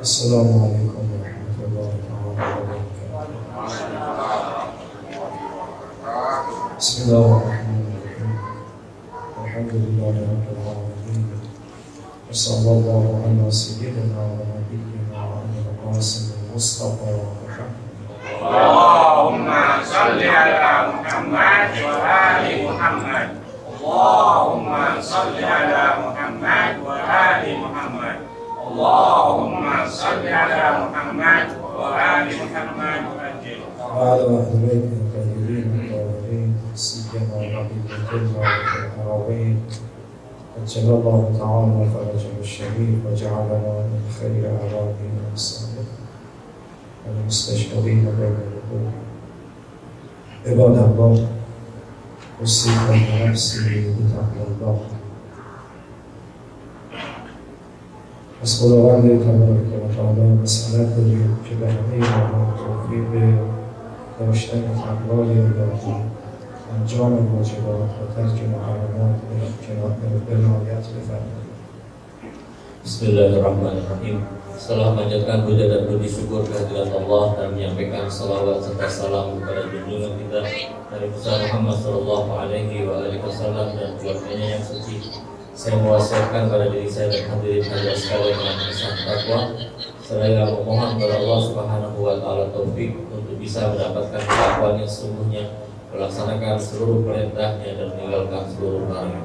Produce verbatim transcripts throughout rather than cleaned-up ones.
Assalamualaikum warahmatullahi wabarakatuh. Bismillahirrahmanirrahim. Alhamdulillahi rabbil alamin. Wassallallahu ala sayyidina wa nabiyyina wa al-qasim al-mustafa Muhammad. Allahumma salli ala Muhammad wa ali Muhammad. Allahumma salli ala Muhammad wa ali Muhammad. Allahumma salli ala Muhammad wa ali Muhammad. وعلى أهل بيت الطاهرين الطاهرين سيما حبيب القدوة والحرمين أجل الله تعالى فرجه الشريف وجعلنا من خير أعرابين الصالحين المستشهدين بين القلوب. عباد الله، أوصيكم ونفسي بتقوى الله. از خداوند تبارک و تعالی مسئلت داریم که به همه ما توفیق داشتن تقوای الهی، انجام واجبات و ترک محرمات به عنایت بفرمایید. Bismillahirrahmanirrahim. Setelah memanjatkan puja dan puji syukur kehadirat Allah dan menyampaikan salawat serta salam kepada junjungan kita Nabi Muhammad Sallallahu Alaihi Wasallam dan keluarganya yang suci, saya mewasiatkan pada diri saya dan hadirin hadirat sekalian dengan pesan takwa, seraya memohon kepada Allah Subhanahu Wa Taala taufik untuk bisa mendapatkan ketakwaan yang sesungguhnya, melaksanakan seluruh perintahnya dan meninggalkan seluruh larangannya.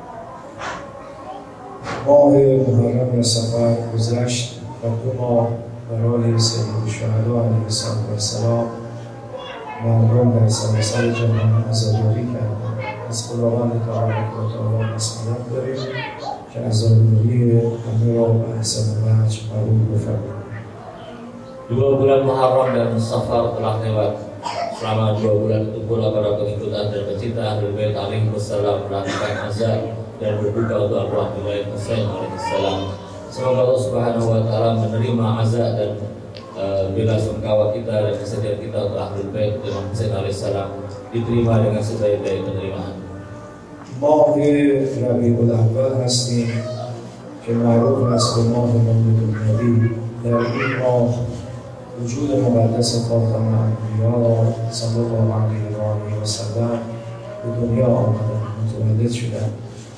ماه محرم سفر گذشت و دو ماه برای سید الشهدا علیه السلام مردم در سراسر جهان عزاداری کردند. از خداوند تبارک و تعالی مسئلت داریم که عزاداری همه را به احسن وجه قبول بفرمایید. Dua bulan Muharram dan Safar telah lewat. Selama dua bulan itu pula para pengikut dan pecinta Ahlul Bait alaihi wassalam melakukan azan dan berduka untuk Abu Abdullah Husain alaihi salam. Semoga Allah Subhanahu wa taala menerima azan dan uh, bela sungkawa kita dan kesedihan kita untuk Ahlul Bait Imam Husain alaihi salam diterima dengan sebaik-baik penerimaan. ماه ربیع الاول هستیم که معروف است به ماه مولد النبی. در این ماه وجود مقدس خاتم الانبیا صلی الله علیه و آله و سلم به دنیا آمدند، متولد شدند.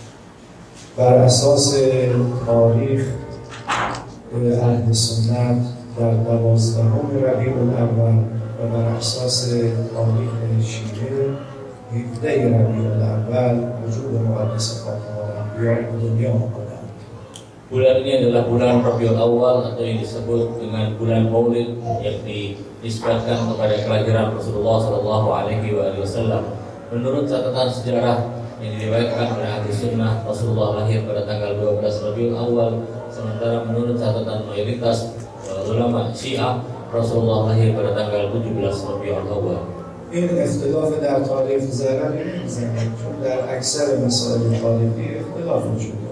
بر اساس تاریخ اهل سنت در دوازدهم ربیع الاول و بر اساس تاریخ شیعه هفده ربیع الاول وجود مقدس خاتم الانبیا به دنیا آمدند. Bulan ini adalah bulan Rabiul Awal atau yang disebut dengan bulan Maulid, yang dinisbatkan kepada kelahiran Rasulullah Shallallahu Alaihi Wasallam. Menurut catatan sejarah yang diriwayatkan oleh ahli sunnah, Rasulullah lahir pada tanggal dua belas Rabiul Awal, sementara menurut catatan mayoritas uh, ulama Syiah, Rasulullah lahir pada tanggal tujuh belas Rabiul Awal. این اختلاف در تاریخ ضرر نمیزنه، چون در اکثر مسائل تاریخی اختلاف وجود داره.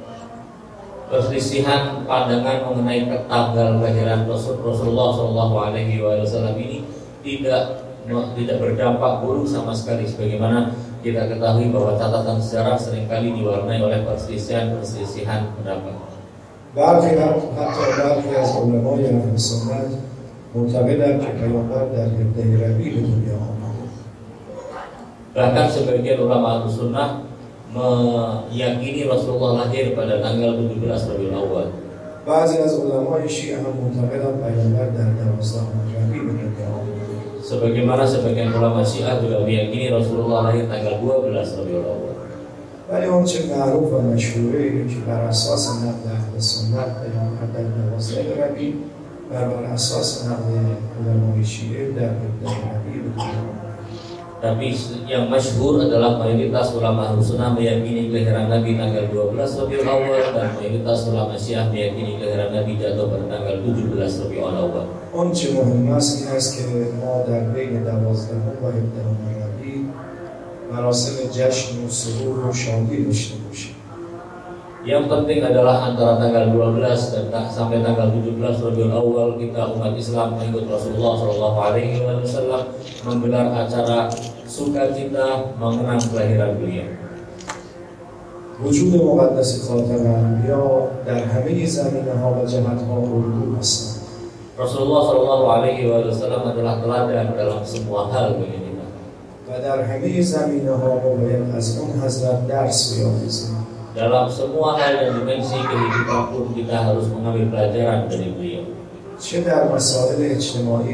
Perselisihan pandangan mengenai tanggal kelahiran Rasulullah Shallallahu Alaihi Wasallam ini tidak tidak berdampak buruk sama sekali, sebagaimana kita ketahui bahwa catatan sejarah seringkali diwarnai oleh perselisihan-perselisihan pendapat. برخی حتی برخی از علمای اهل سنت معتقدند که پیامبر در هفده ربیع به دنیا آمد. Bahkan sebagian ulama Ahlussunnah meyakini Rasulullah lahir pada tanggal tujuh belas Rabiul Awal. بعضی از علمای شیعه هم معتقدند پیامبر در دوازدهم ربیع به دنیا آمد. Sebagaimana sebagian ulama Syiah juga meyakini Rasulullah lahir tanggal dua belas Rabiul Awal. ولی اون چه معروف و مشهوره اینه که بر اساس نقل اهل سنت پیامبر در دوازده ربیع و بر اساس نقل علمای شیعه در هفده ربیع به دنیا آمد. Tapi yang masyhur adalah mayoritas ulama Ahlussunnah meyakini kelahiran Nabi tanggal dua belas Rabiul Awal dan mayoritas ulama Syiah meyakini kelahiran Nabi jatuh pada tanggal tujuh belas Rabiul Awal. اون چه مهم است این است که ما در بین دوازدهم و هفدهم ربیع مراسم جشن و سرور و شادی داشته باشیم. Yang penting adalah antara tanggal dua belas dan sampai tanggal tujuh belas Rabiul Awal kita umat Islam mengikut Rasulullah Shallallahu Alaihi Wasallam menggelar acara sukacita mengenang kelahiran beliau. وجود مقدس خاتم انبیا در همه زمینه ها و جهت ها الگو هستند. Rasulullah Shallallahu Alaihi Wasallam adalah teladan dalam semua hal bagi kita. و در همه زمینه ها ما باید از اون حضرت درس بیاموزیم. Dalam semua hal dan dimensi kehidupan pun kita harus mengambil pelajaran dari beliau. چه در مسائل اجتماعی،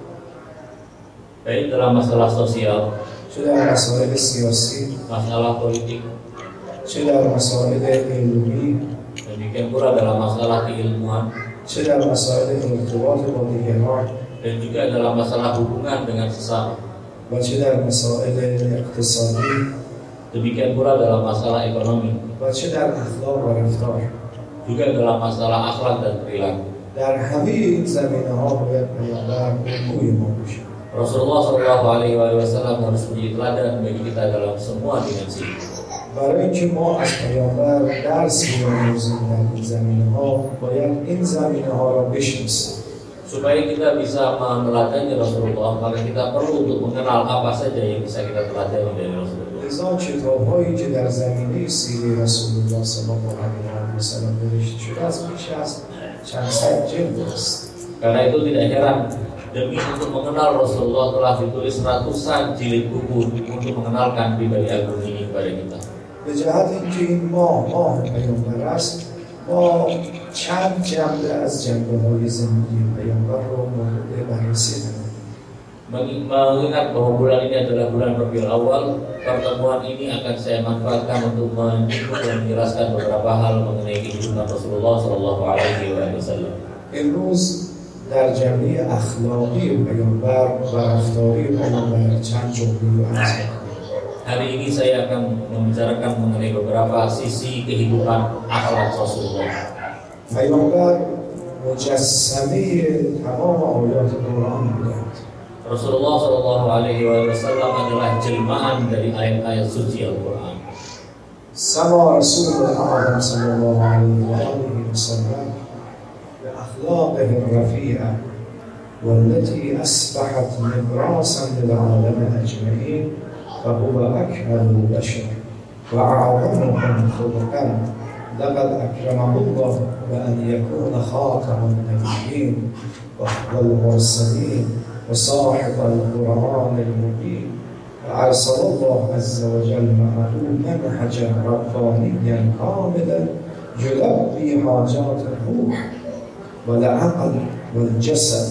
baik dalam masalah sosial, چه در مسائل سیاسی، masalah politik, چه در مسائل علمی، demikian pula dalam masalah keilmuan, چه در مسائل ارتباط با دیگران، dan juga dalam masalah hubungan dengan sesama, و چه در مسائل اقتصادی، demikian pula dalam masalah ekonomi, و چه در اخلاق و رفتار. juga dalam masalah akhlak dan perilaku. در همه این زمینه ها باید پیامبر الگوی ما باشه. Rasulullah Shallallahu Alaihi Wasallam harus menjadi teladan bagi kita dalam semua dimensi. برای اینکه ما از پیامبر درس بیاموزیم در این زمینه ها باید این زمینه ها را بشناسیم. Supaya kita bisa meneladani Rasulullah, maka kita perlu untuk mengenal apa saja yang bisa kita teladani dari Rasulullah. لذا کتاب‌هایی که در زمینه سیره رسول الله صلی الله علیه و سلم نوشته شده از بیش از چند صد جلد است. Karena itu tidak heran, demi untuk mengenal Rasulullah telah ditulis ratusan jilid buku untuk mengenalkan pribadi agung ini kepada kita. به جهت اینکه این ماه ماه پیامبر است، ما چند جنبه از جنبه‌های زندگی پیامبر رو مورد بررسی داریم. Mengingat bahwa bulan ini adalah bulan Rabiul Awal, pertemuan ini akan saya manfaatkan untuk menyinggung dan menjelaskan beberapa hal mengenai kehidupan Rasulullah Shallallahu Alaihi Wasallam. امروز در جنبه اخلاقی پیامبر و رفتاری پیامبر چند جمله رو عرض می‌کنم. Hari ini saya akan membicarakan mengenai beberapa sisi kehidupan akhlak Rasulullah. پیامبر مجسمه تمام آیات قرآن بودند. Rasulullah Shallallahu Alaihi Wasallam adalah jelmaan dari ayat-ayat suci Al-Quran. سما رسول الأعظم صلى الله عليه وآله وسلم بأخلاقه الرفيعة والتي أصبحت نبراسا للعالم أجمعين، فهو أكمل البشر وأعظمهم خلقا. لقد أكرمه الله بأن يكون خاتم النبيين والمرسلين وصاحب القرآن المبين، وأرسل الله عز وجل معه منهجا ربانيا كاملا يلبي حاجات الروح والعقل والجسد.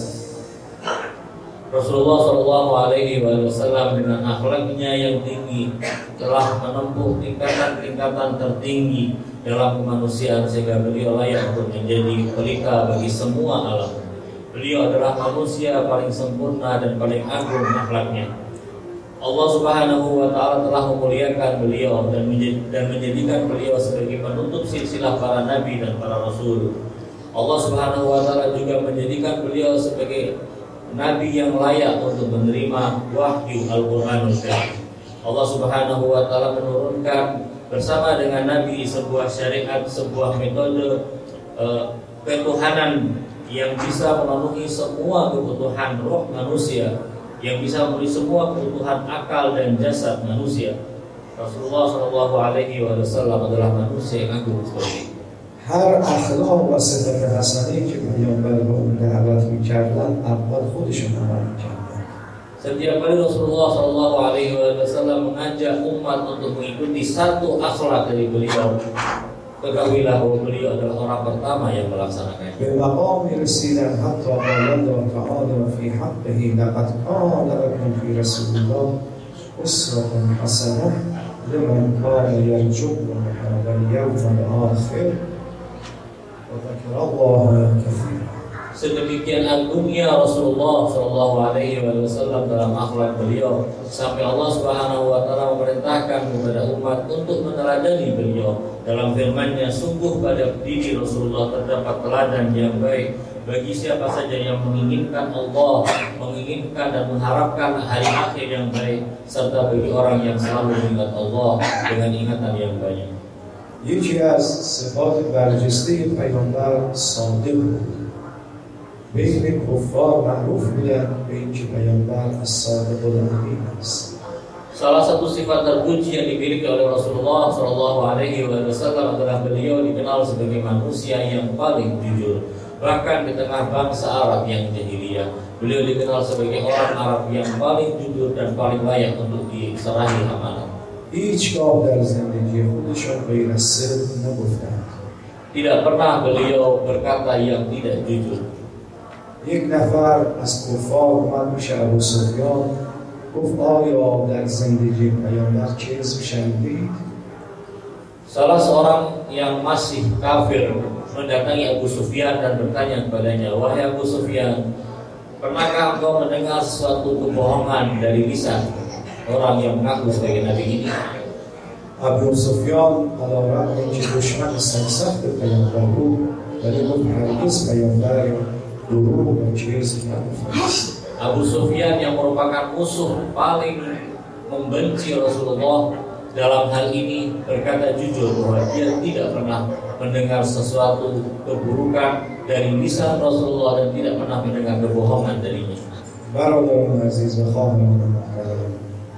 Rasulullah Shallallahu Alaihi Wasallam dengan akhlaknya yang tinggi telah menempuh tingkatan-tingkatan tertinggi dalam kemanusiaan sehingga beliau layak untuk menjadi pelita bagi semua alam. Beliau adalah manusia paling sempurna dan paling agung akhlaknya. Allah Subhanahu wa Ta'ala telah memuliakan beliau dan, menjadi, dan menjadikan beliau sebagai penutup silsilah para nabi dan para rasul. Allah Subhanahu wa Ta'ala juga menjadikan beliau sebagai nabi yang layak untuk menerima wahyu Al-Quranul Karim. Allah Subhanahu wa Ta'ala menurunkan bersama dengan nabi sebuah syariat, sebuah metode uh, ketuhanan yang bisa memenuhi semua kebutuhan roh manusia, yang bisa memenuhi semua kebutuhan akal dan jasad manusia. Rasulullah Shallallahu Alaihi Wasallam adalah manusia yang agung seperti itu. هر اخلاق و صفت حسنه‌ای که پیامبر به اون دعوت می‌کردن اول خودشون عمل می‌کردن. Setiap kali Rasulullah Shallallahu Alaihi Wasallam mengajak umat untuk mengikuti satu akhlak dari beliau, ketahuilah bahwa beliau adalah orang pertama yang melaksanakannya. به مقام رسیدن حتی قال الله تعالی فی حقه لقد کان لکم فی رسول الله اسوة حسنة لمن كان يرجو الله والیوم الآخر وذكر الله كثيرا. Sedemikian agungnya Rasulullah Shallallahu Alaihi Wasallam dalam akhlak beliau sampai Allah Subhanahu Wa Taala memerintahkan kepada umat untuk meneladani beliau dalam firman-Nya, sungguh pada diri Rasulullah terdapat teladan yang baik bagi siapa saja yang menginginkan Allah, menginginkan dan mengharapkan hari akhir yang baik, serta bagi orang yang selalu mengingat Allah dengan ingatan yang banyak. یکی از صفات برجسته پیامبر صادق بود. بین کفار معروف بودن به اینکه پیامبر از صادق الامین است. Salah satu sifat terpuji yang dimiliki oleh Rasulullah Shallallahu Alaihi Wasallam adalah beliau dikenal sebagai manusia yang paling jujur. Bahkan di tengah bangsa Arab yang jahiliyah, beliau dikenal sebagai orang Arab yang paling jujur dan paling layak untuk diserahi amanah. هیچگاه در زندگی خودشان غیر از صدق نگفتند. Tidak pernah beliau berkata yang tidak jujur. یک نفر از کفار اومد پیش ابو سفیان گفت آیا در زندگی پیامبر کذب شنیدید؟ Salah seorang yang masih kafir mendatangi Abu Sufyan dan bertanya kepadanya, wahai Abu Sufyan, pernahkah engkau mendengar sesuatu kebohongan dari lisan orang yang mengaku sebagai nabi ini? ابو سفیان علیرغم اینکه دشمن سرسخت پیامبر بود ولی گفت هرگز پیامبر دروغ و کذب نگفته. Abu Sufyan yang merupakan musuh paling membenci Rasulullah dalam hal ini berkata jujur bahwa dia tidak pernah mendengar sesuatu keburukan dari lisan Rasulullah dan tidak pernah mendengar kebohongan darinya. برادران عزیز و خواهران محترم،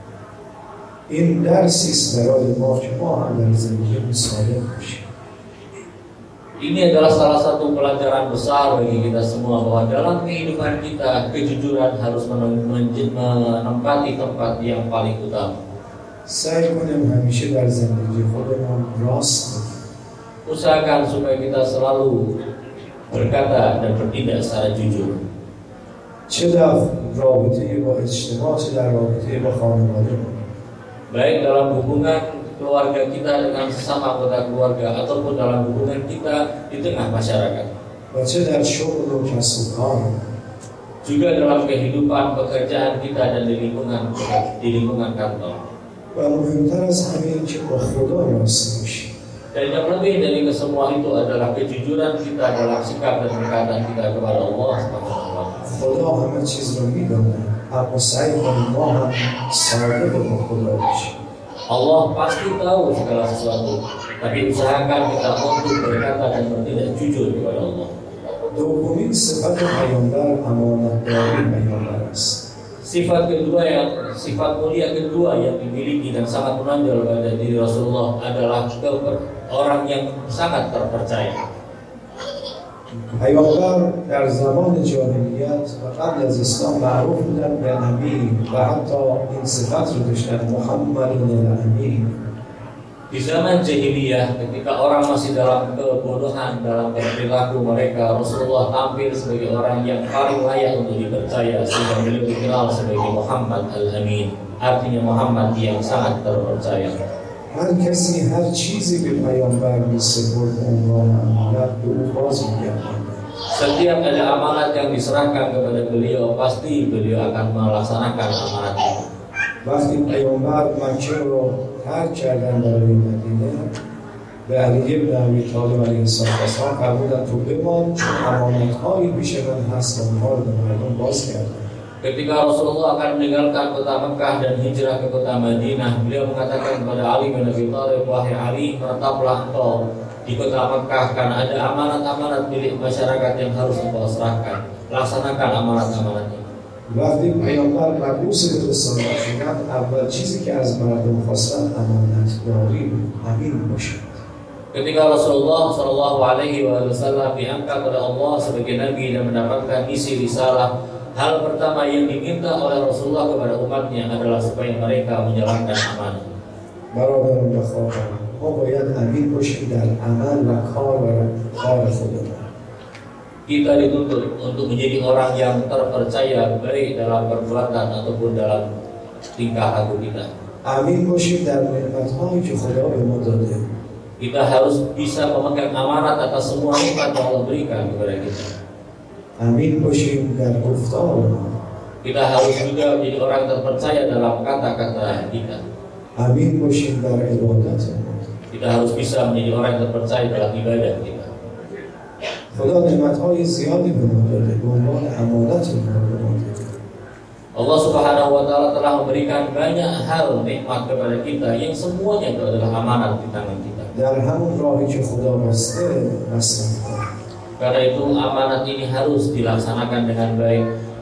این درسی است برای ما که ما هم در زندگی صادق باشیم. Ini adalah salah satu pelajaran besar bagi kita semua bahwa dalam kehidupan kita kejujuran harus menempati tempat yang paling utama. سعی کنیم همیشه در زندگی خودمان راست بگیم. Usahakan supaya kita selalu berkata dan bertindak secara jujur. چه در رابطه با اجتماع چه در رابطه با خانواده. Baik dalam hubungan keluarga kita dengan sesama anggota keluarga ataupun dalam hubungan kita di tengah masyarakat. و چه در شغل و کسب و کار. Juga dalam kehidupan pekerjaan kita dan di lingkungan di lingkungan kantor. و مهمتر از همه این که با خدا راست باشیم. Dan yang lebih dari kesemua itu adalah kejujuran kita dalam sikap dan perkataan kita kepada Allah Subhanahu wa taala. خدا همه چیز رو میدونه، اما سعی کنیم ما هم صادق با خدا باشیم. Allah pasti tahu segala sesuatu, tapi usahakan kita untuk berkata dan bertindak jujur kepada Allah. دومین صفت پیامبر امانتداری پیامبر است. Sifat kedua yang sifat mulia kedua yang dimiliki dan sangat menonjol pada diri Rasulullah adalah keper, orang yang sangat terpercaya. پیامبر در زمان جاهلیت و قبل از اسلام معروف بودن به امین و حتی این صفت رو داشتن محمد الامین. Di zaman jahiliyah ketika orang masih dalam kebodohan dalam perilaku mereka, Rasulullah tampil sebagai orang yang paling layak untuk dipercaya sehingga beliau dikenal sebagai Muhammad al-Amin, artinya Muhammad yang sangat terpercaya. هر کسی هر چیزی به پیامبر می‌سپرد عنوان امانت به او باز می‌گرداند. Setiap ada amanat yang diserahkan kepada beliau, pasti beliau akan melaksanakan amanat itu. وقتی پیامبر مکه رو ترک کردن برای مدینه به علی بن ابی طالب علیه السلام فرمودن تو بمان چون امانت‌هایی پیش من هست و اونها رو به مردم باز کردن. Ketika Rasulullah akan meninggalkan kota Mekah dan hijrah ke kota Madinah, beliau mengatakan kepada Ali bin Abi Thalib, wahai Ali, menetaplah engkau di kota Mekah karena ada amanat-amanat milik masyarakat yang harus engkau serahkan. Laksanakan amanat-amanat itu. وقتی پیامبر مبعوث به رسالت شدند اول چیزی که از مردم خواستن امانتداری بود، امین باشد. Ketika Rasulullah Shallallahu Alaihi Wasallam diangkat oleh Allah sebagai Nabi dan mendapatkan misi risalah, hal pertama yang diminta oleh Rasulullah kepada umatnya adalah supaya mereka menjalankan amanah. برادران و خواهران، ما باید امین باشیم در عمل و کار و کار خودمان. Kita dituntut untuk menjadi orang yang terpercaya baik dalam perbuatan ataupun dalam tingkah laku kita. امین باشیم در نعمت‌هایی که خدا به ما داده. Kita harus bisa memegang amanat atas semua nikmat yang Allah berikan kepada kita. امین باشیم در گفتار ما. Kita harus juga menjadi orang terpercaya dalam kata-kata kita. امین باشیم در عبادت ما. Kita harus bisa menjadi orang yang terpercaya dalam ibadah kita. خدا نعمت‌های زیادی به ما داده به عنوان امانت ما به ما داده. Allah Subhanahu wa taala telah memberikan banyak hal nikmat kepada kita yang semuanya itu adalah amanat di tangan kita. در همون راهی که خدا بسته مصرف کنیم. Karena itu amanat ini harus dilaksanakan dengan baik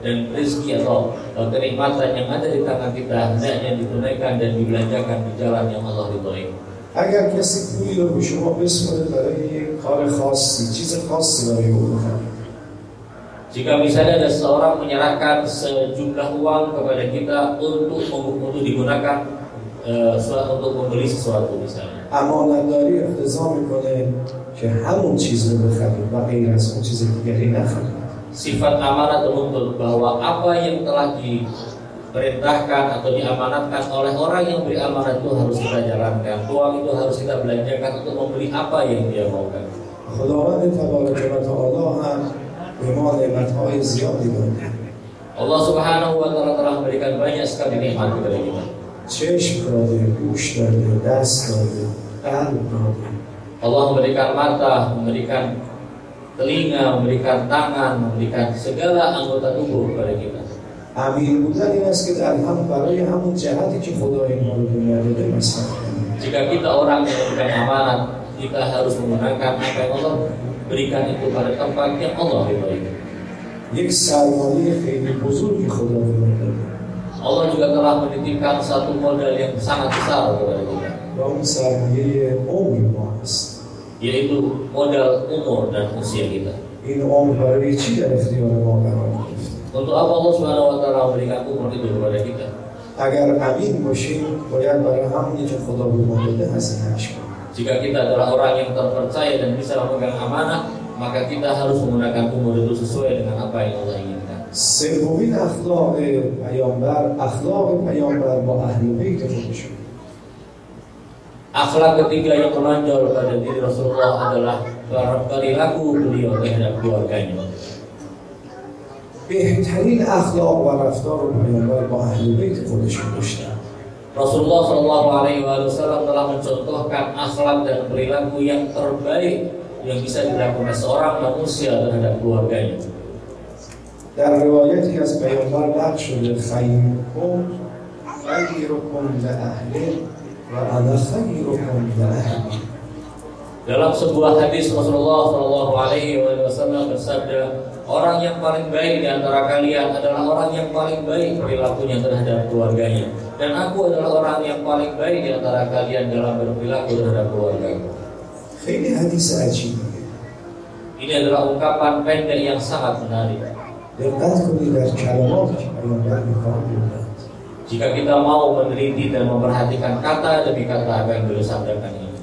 dan rezeki atau uh, kenikmatan yang ada di tangan kita hendaknya ditunaikan dan dibelanjakan di jalan yang Allah ridhoi. اگر کسی پولی رو به شما بسپاره برای یک کار خاصی، چیز خاصی برای او بخرید. Jika misalnya ada seorang menyerahkan sejumlah uang kepada kita untuk untuk digunakan uh, untuk membeli sesuatu misalnya. امانتداری اقتضا میکنه که همون چیز رو بخرید و غیر از اون چیز دیگری نخرید. Sifat amanat menuntut bahwa apa yang telah diperintahkan atau diamanatkan oleh orang yang beri amanat itu harus kita jalankan. Uang itu harus kita belanjakan untuk membeli apa yang dia maukan. خداوند تبارک و تعالی هم به ما نعمت‌های زیادی داده. Allah Subhanahu wa taala telah memberikan banyak sekali nikmat kepada kita. چشم داده، گوش داده، دست داده، قلب داده. Allah memberikan mata, memberikan telinga, memberikan tangan, memberikan segala anggota tubuh kepada kita. امین بودن این است که در هم برای همون جهتی که خدا اینها رو دنیا داده مصرف کنیم. Jika kita orang yang memberikan amanat, kita harus menggunakan apa yang Allah berikan itu pada tempat yang Allah ridhoi. یک سرمایه خیلی بزرگی خدا به ما داده. Allah juga telah menitipkan satu modal yang sangat besar kepada kita. و اون سرمایه عمر ما است. Yaitu modal umur dan usia kita. این عمر برای چی در اختیار ما قرار گرفته؟ Untuk apa Allah Subhanahu wa taala memberikan umur itu kepada kita? اگر امین باشیم باید برای همونی که خدا به ما داده هزینه‌اش کنیم. Jika kita adalah orang yang terpercaya dan bisa memegang amanah, maka kita harus menggunakan umur itu sesuai dengan apa yang Allah inginkan. سومین اخلاق پیامبر اخلاق پیامبر با اهل بیت خودشون. Akhlak ketiga yang menonjol pada diri Rasulullah adalah perilaku beliau terhadap keluarganya. بهترین اخلاق و رفتار پیامبر با اهل بیت خودشون داشتن. Rasulullah Shallallahu Alaihi Wasallam telah mencontohkan akhlak dan perilaku yang terbaik yang bisa dilakukan seorang manusia terhadap keluarganya. در روایتی از پیامبر نقل شده خیرکم خیرکم لأهله و انا خیرکم لأهلی. Dalam sebuah hadis Rasulullah Shallallahu Alaihi Wasallam bersabda, orang yang paling baik di antara kalian adalah orang yang paling baik perilakunya terhadap keluarganya, dan aku adalah orang yang paling baik di antara kalian dalam berperilaku terhadap keluargaku. خیلی حدیث عجیبیه. Ini adalah ungkapan pendek yang sangat menarik. دقت کنید در کلماتی که پیامبر می‌کار بودند. Jika kita mau meneliti dan memperhatikan kata demi kata apa yang beliau sampaikan ini.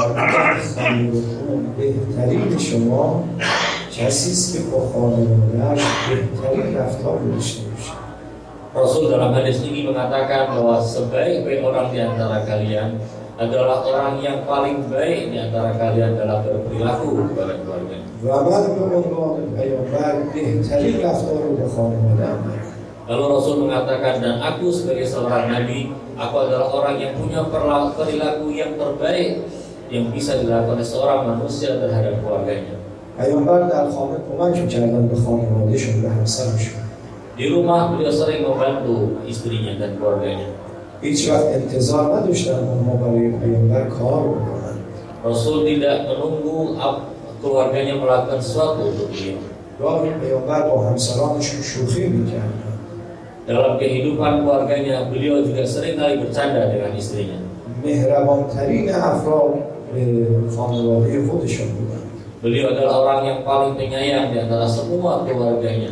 بهترین شما کسی است که با خانواده‌اش بهترین رفتار داشته باشه. Rasul dalam hadis ini mengatakan bahwa sebaik-baik orang di antara kalian adalah orang yang paling baik di antara kalian dalam berperilaku kepada keluarga. و من به عنوان پیامبر بهترین رفتار رو به خانواده‌ام دارم. Lalu Rasul mengatakan, dan aku sebagai seorang nabi, aku adalah orang yang punya perilaku yang terbaik yang bisa dilakukan oleh seorang manusia terhadap keluarganya. پیامبر در خانه کمک می‌کردن به خانواده‌شون، به همسرشون. Di rumah beliau sering membantu istrinya dan keluarganya. هیچ وقت انتظار نداشتن اونها برای پیامبر کار بکنن. Rasul tidak menunggu keluarganya melakukan sesuatu untuk beliau. گاهی پیامبر با همسرانشون شوخی می‌کردن. Dalam kehidupan keluarganya, beliau juga sering kali bercanda dengan istrinya. مهربان‌ترین افراد به خانواده خودشون بودن. Beliau adalah orang yang paling penyayang di antara semua keluarganya.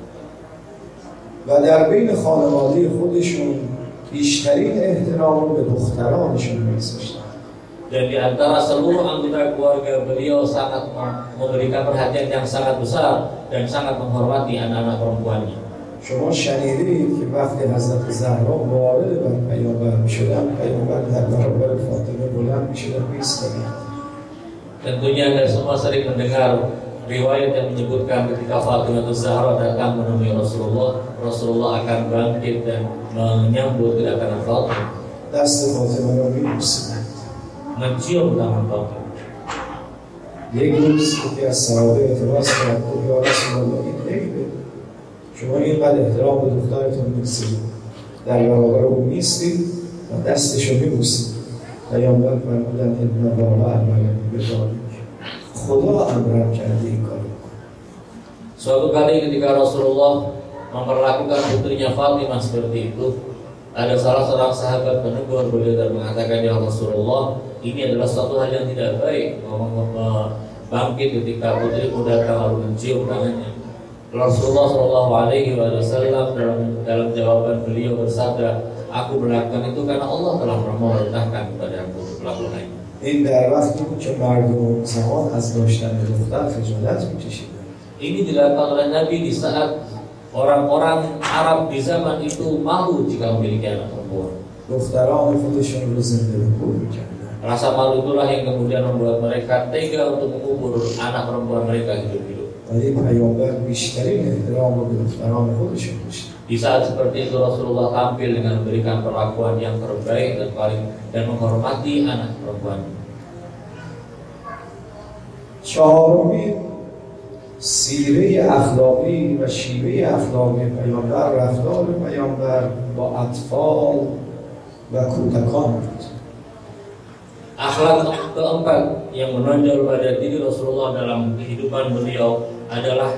و در بین خانواده خودشون بیشترین احترام رو به دخترانشون می‌گذاشتن. Dan di antara seluruh anggota keluarga beliau sangat memberikan perhatian yang sangat besar dan sangat menghormati anak-anak perempuannya. شما شنیدید که وقتی حضرت زهرا وارد بر پیامبر می‌شدن، پیامبر در برابر فاطمه بلند می‌شدن می‌ایستادن. Tentunya Anda semua sering mendengar riwayat yang menyebutkan ketika Fatimah Zahra datang menemui Rasulullah, Rasulullah akan bangkit dan menyambut kedatangan Fatimah. دست فاطمه رو می‌بوسیدن. Mencium tangan Fatimah. یک روز یکی از صحابه اعتراض کرد که یا رسول الله این عیبه، شما اینقدر احترام به دخترتون می‌گذارید، در برابر او می‌ایستید و دستشو می‌بوسید. پیامبر فرمودن ان الله امرنی بذلک، خدا امرم کرده این کارو. Suatu kali ketika Rasulullah memperlakukan putrinya Fatimah seperti itu. Ada salah seorang sahabat menegur beliau dan mengatakan, ya Rasulullah, ini adalah suatu hal yang tidak baik, bangkit ketika putrimu datang lalu mencium tangannya. Rasulullah Shallallahu Alaihi Wasallam dalam dalam jawaban beliau bersabda, aku melakukan itu karena Allah telah memerintahkan kepada aku melakukannya. این در وقتی بود که مردم زمان از داشتن دختر خجالت می‌کشیدند. Ini dilakukan oleh Nabi di saat orang-orang Arab di zaman itu malu jika memiliki anak perempuan. دختران خودشون رو زنده به کور می‌کردند. Rasa malu itulah yang kemudian membuat mereka tega untuk mengubur anak perempuan mereka hidup-hidup. ولی پیامبر بیشترین احترام رو به دختران خودشون داشت. Di saat seperti itu Rasulullah tampil dengan memberikan perlakuan yang terbaik dan paling dan menghormati anak perempuan. چهارمین سیره اخلاقی و شیوه اخلاقی پیامبر رفتار پیامبر با اطفال و کودکان بود. Akhlak keempat yang menonjol pada diri Rasulullah dalam kehidupan beliau adalah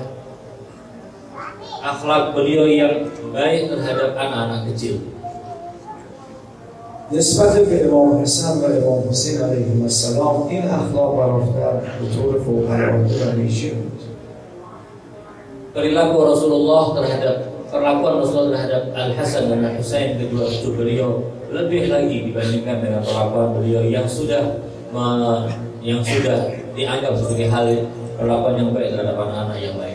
akhlak beliau yang baik terhadap anak-anak kecil. نسبت به امام حسن و امام حسین علیهم السلام این اخلاق و رفتار به طور فوق‌العاده و ویژه بود. Perilaku Rasulullah terhadap perlakuan Rasulullah terhadap Al Hasan dan Al Husain, kedua cucu beliau, lebih lagi dibandingkan dengan perlakuan beliau yang sudah me, yang sudah dianggap sebagai hal perlakuan yang baik terhadap anak-anak yang lain.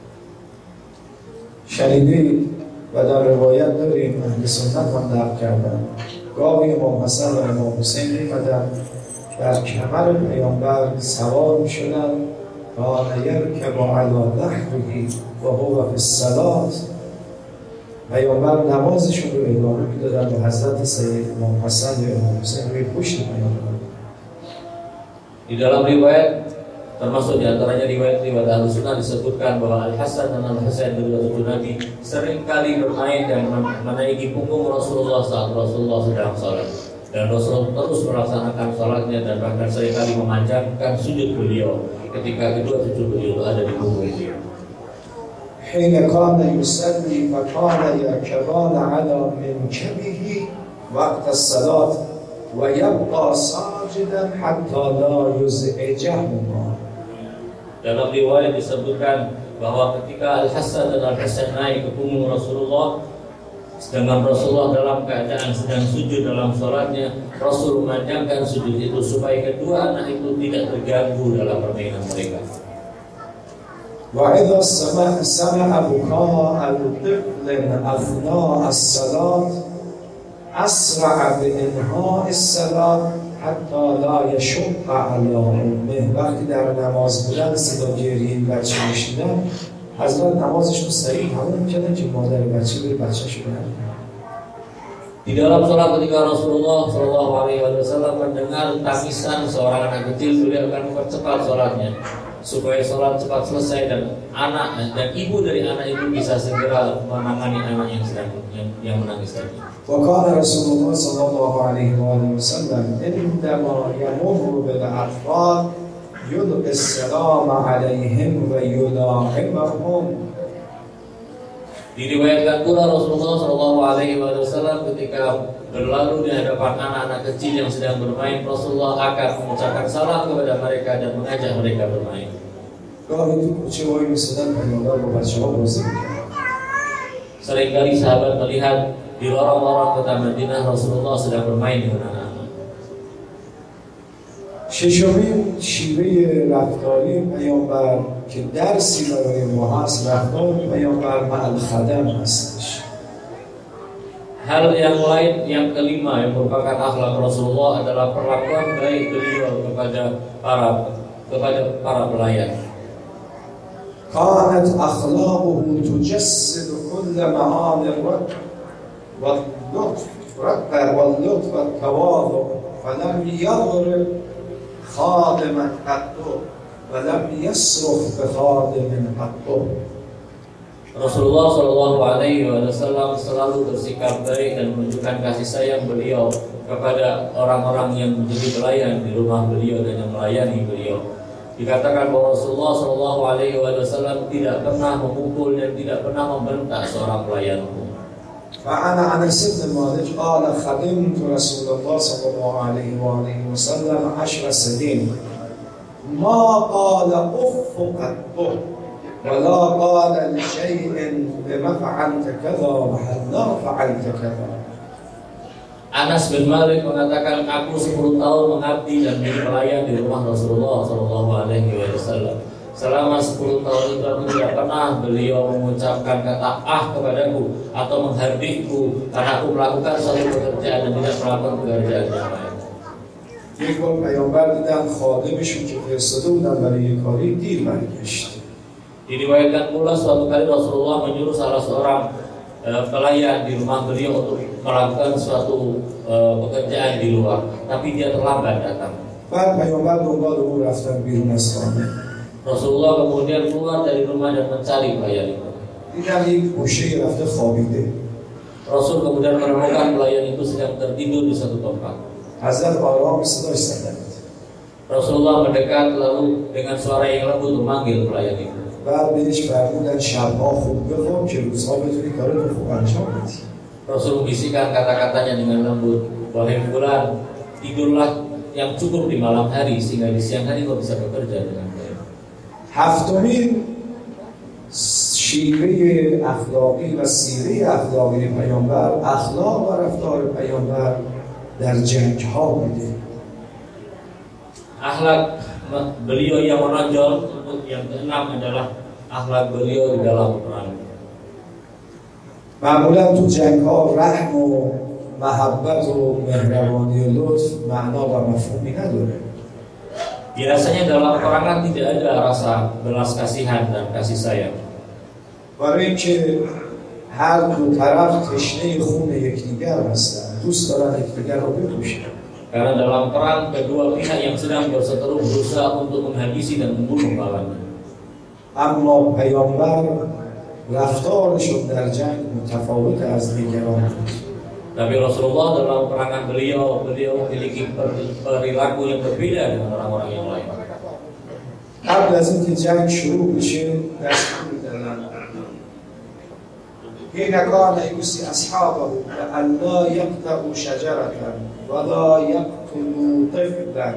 شنیدید و در روایت داریم اهل سنت هم نقل کردن گاهی امام حسن و امام حسین می‌آمدن در کمر پیامبر سوار می‌شدند کان یرکب علی ظهره و هو فی الصلاة. پیامبر نمازشون رو ادامه می‌دادن و حضرت سید امام حسن و امام حسین روی پشت پیامبر. Di dalam riwayat, termasuk diantaranya riwayat-riwayat Ahlussunnah, disebutkan bahwa Al Hasan dan Al Husain kedua cucu Nabi seringkali bermain dan menaiki punggung Rasulullah saat Rasulullah sedang sholat, dan Rasulullah terus melaksanakan sholatnya dan bahkan seringkali memanjangkan sujud beliau ketika kedua cucu beliau itu ada di punggung beliau. حين كان يصلي فكان يركبان على منكبه وقت الصلاة ويبقى ساجدا حتى لا يزعجهما. Dalam riwayat disebutkan bahwa ketika Al Hasan dan Al Husain naik ke punggung Rasulullah, sedangkan Rasulullah dalam keadaan sedang sujud dalam sholatnya, Rasul memanjangkan sujud itu supaya kedua anak itu tidak terganggu dalam permainan mereka. وإذا سمع سمع بكاء الطفل أثناء الصلاة أسرع بإنهاء الصلاة حتی لا یشق علی امه. وقتی در نماز بودن صدا گریه بچه میشنیدن، حضرت نمازش رو سریع تمام میکردن که مادر بچه بره بچه‌ش رو ببره. Di dalam sholat ketika Rasulullah Shallallahu Alaihi Wasallam mendengar tangisan seorang anak kecil, beliau akan mempercepat sholatnya supaya sholat cepat selesai dan anak dan ibu dari anak itu bisa segera menangani anak yang sedang yang, yang menangis tadi. وكان رسول الله صلى الله عليه وآله وسلم عندما يمر بالأطفال يلقي السلام عليهم ويلاعبهم. Diriwayatkan pula Rasulullah Shallallahu Alaihi Wasallam ketika berlalu di hadapan anak-anak kecil yang sedang bermain, Rasulullah akan mengucapkan salam kepada mereka dan mengajak mereka bermain. Seringkali sahabat melihat di lorong-lorong kota Madinah Rasulullah sedang bermain dengan anak-anak. ششمین شیوه رفتاری پیامبر که درسی برای ما هست، رفتار پیامبر مع الخدم هستش. Hal yang lain yang kelima yang merupakan akhlak Rasulullah adalah perlakuan baik beliau kepada para kepada para pelayan. كانت أخلاقه تجسد كل معاني الرق واللطف واللطف والتواضع فلم يضرب خادما قط ولم يصرخ بخادم قط. Rasulullah Shallallahu Alaihi Wasallam selalu bersikap baik dan menunjukkan kasih sayang beliau kepada orang-orang yang menjadi pelayan di rumah beliau dan yang melayani beliau. Dikatakan bahwa Rasulullah Shallallahu Alaihi Wasallam tidak pernah memukul dan tidak pernah membentak seorang pelayanku. فعن أنس بن مالك قال خدمت رسول الله صلى الله عليه وآله وسلم عشر سنين ما قال أف قط ولا قال لشيء بما فعلت كذا وهلا فعلت كذا. Anas bin Malik mengatakan, aku sepuluh tahun mengabdi dan menjadi pelayan di rumah Rasulullah Shallallahu Alaihi Wasallam. Selama sepuluh tahun itu aku tidak pernah beliau mengucapkan kata ah kepadaku atau menghardikku karena aku melakukan suatu pekerjaan dan tidak melakukan pekerjaan yang lain. یک بار پیامبر دیدن خادمشون که فرستاده بودن برای کاری دیر برگشت. Diriwayatkan pula suatu kali Rasulullah menyuruh salah seorang uh, pelayan di rumah beliau untuk melakukan suatu uh, pekerjaan di luar, tapi dia terlambat datang. بعد پیامبر دنبال او رفتن بیرون از خانه. Rasulullah kemudian keluar dari rumah dan mencari pelayan itu. دیدن یک گوشه رفته خوابیده. Rasul kemudian menemukan pelayan itu sedang tertidur di satu tempat. حضرت آرام صداش زدند. Rasulullah mendekat lalu dengan suara yang lembut memanggil pelayan itu. بعد بهش فرمودن شبها خوب بخواب که روزها بتونی کارتو خوب انجام بدی. Rasul membisikkan kata-katanya dengan lembut, wahai fulan, tidurlah yang cukup di malam hari sehingga di siang hari kau bisa bekerja dengan baik. هفتمین شیوه اخلاقی و سیره اخلاقی پیامبر اخلاق و رفتار پیامبر در جنگ ها بوده. Akhlak beliau yang menonjol untuk yang keenam adalah akhlak beliau di dalam perang. معمولا تو جنگ ها رحم و محبت و مهربانی و لطف معنا و مفهومی نداره. Biasanya dalam perangan tidak ada rasa belas kasihan dan kasih sayang. برای اینکه هر دو طرف تشنه خون یکدیگر هستند، دوست دارن یکدیگر رو بکشن. Karena dalam perang kedua pihak yang sedang berseteru berusaha untuk menghabisi dan membunuh lawannya. اما پیامبر رفتارشون در جنگ متفاوت از دیگران بود. Tapi Rasulullah dalam perangan beliau, beliau memiliki perilaku yang berbeda dengan orang-orang yang lain. قبل از اینکه جنگ شروع بشه دستور دادن حين كان يوصي أصحابه أن لا يقطعوا شجرة ولا يقتلوا طفلا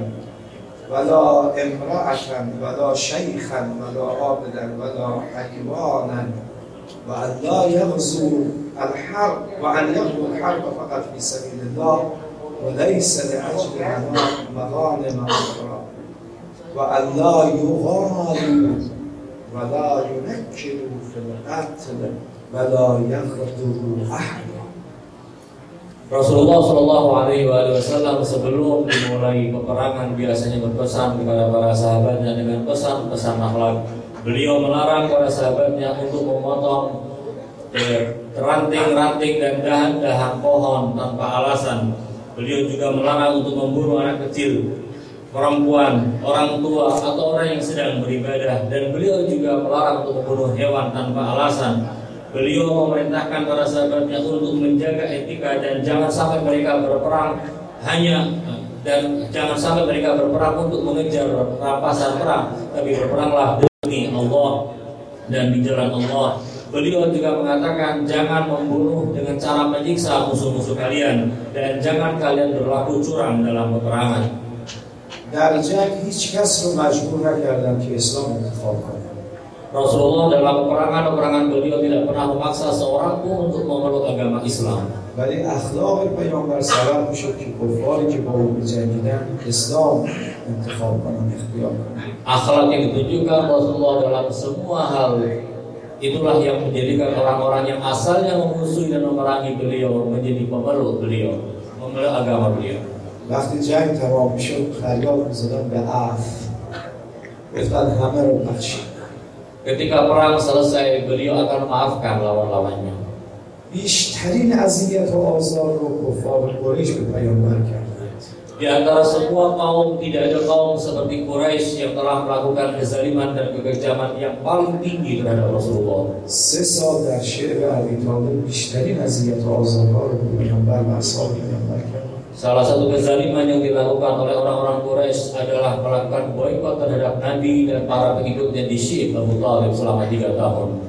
ولا امرأة ولا شيخا ولا عابدا ولا حيوانا وأن لا يغزوا الحرب وأن يغزوا الحرب فقط في سبيل الله وليس لأجل مغانم أخرى وأن لا يغالوا ولا ينكروا في القتل ولا يغدروا أحدا. Rasulullah Shallallahu Alaihi Wasallam sebelum dimulai peperangan biasanya berpesan kepada para sahabatnya dengan pesan-pesan akhlak. Beliau melarang para sahabatnya untuk memotong ranting-ranting dan dahan-dahan pohon tanpa alasan. Beliau juga melarang untuk membunuh anak kecil, perempuan, orang tua atau orang yang sedang beribadah. Dan beliau juga melarang untuk membunuh hewan tanpa alasan. Beliau memerintahkan para sahabatnya untuk menjaga etika dan jangan sampai mereka berperang hanya dan jangan sampai mereka berperang untuk mengejar rampasan perang, tapi berperanglah demi Allah dan di jalan Allah. Beliau juga mengatakan jangan membunuh dengan cara menyiksa musuh-musuh kalian dan jangan kalian berlaku curang dalam peperangan. در جنگ هیچ کس رو مجبور نکردن که اسلام انتخاب کنه. Rasulullah dalam peperangan-peperangan beliau tidak pernah memaksa seorang pun untuk memeluk agama Islam. ولی اخلاق پیامبر سبب میشد که کفاری که با او می‌جنگیدن اسلام انتخاب کنن، اختیار کنن. Akhlak yang ditunjukkan Rasulullah dalam semua hal itulah yang menjadikan orang-orang yang asalnya memusuhi dan memerangi beliau menjadi pemeluk beliau, memeluk agama beliau. وقتی جنگ تمام میشد فریاد می‌زدن به عفو، گفتن همه رو بخشید. Ketika perang selesai, beliau akan memaafkan lawan-lawannya. بیشترین اذیت و آزار رو کفار قریش به پیامبر کردند. Di antara semua kaum tidak ada kaum seperti Quraisy yang telah melakukan kezaliman dan kekejaman yang paling tinggi terhadap Rasulullah. سه سال در شعر ابی طالب بیشترین اذیت و آزارها رو به پیامبر و اصحاب پیامبر کردند. Salah satu kezaliman yang dilakukan oleh orang-orang Quraisy adalah melakukan boikot terhadap Nabi dan para pengikutnya di Syib Abu Thalib selama tiga tahun.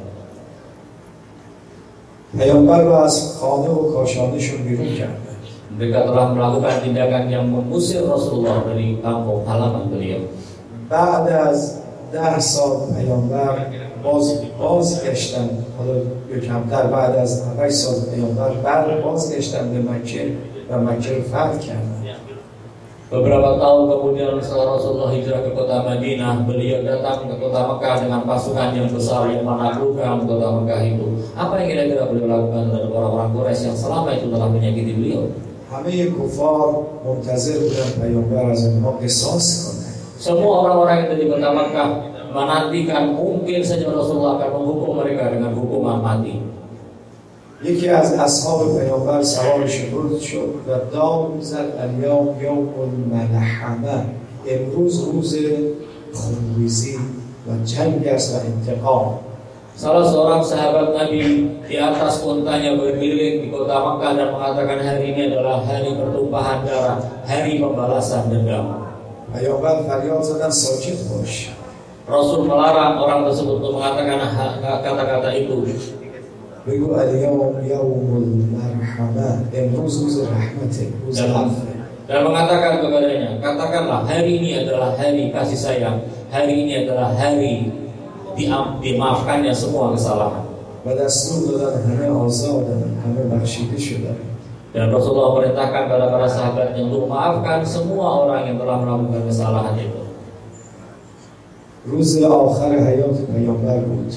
پیامبر را از خانه و کاشانهشون بیرون کردن. Mereka telah melakukan tindakan yang mengusir Rasulullah dari kampung halaman beliau. بعد از ده سال پیامبر باز بازگشتن، حالا کمتر، بعد از هشت سال پیامبر بعد بازگشتن به مکه و مکه رو فتح کردن. Beberapa tahun kemudian setelah Rasulullah hijrah ke kota Madinah, beliau datang ke kota Mekah dengan pasukan yang besar yang menaklukkan kota Mekah itu. Apa yang kira-kira beliau lakukan terhadap orang-orang Quraisy yang selama itu telah menyakiti beliau? همه کفار منتظر بودن پیامبر از اونها قصاص کنه. Semua orang-orang yang ada di kota Mekah menantikan mungkin saja Rasulullah akan menghukum mereka dengan hukuman mati. یکی از اصحاب پیامبر سوار شد شد و داد میزد الیوم یوم الملحمه، امروز روز خونریزی و جنگ است و انتقام. Salah seorang sahabat Nabi di atas untanya berkeliling di kota Mekah dan mengatakan hari ini adalah hari pertumpahan darah, hari pembalasan dendam. پیامبر فریاد زدن ساکت باش. Rasul melarang orang tersebut untuk mengatakan kata-kata itu. بگو الیوم یوم المرحمه، امروز روز رحمته، روز عفو. Dan mengatakan kepadanya, katakanlah hari ini adalah hari kasih sayang, hari ini adalah hari diam, dimaafkannya semua kesalahan. و دستور دادن همه آزادن، همه بخشیده شدن. Dan Rasulullah perintahkan kepada para sahabatnya untuk memaafkan semua orang yang telah melakukan kesalahan itu. روز آخر حیات پیامبر بود.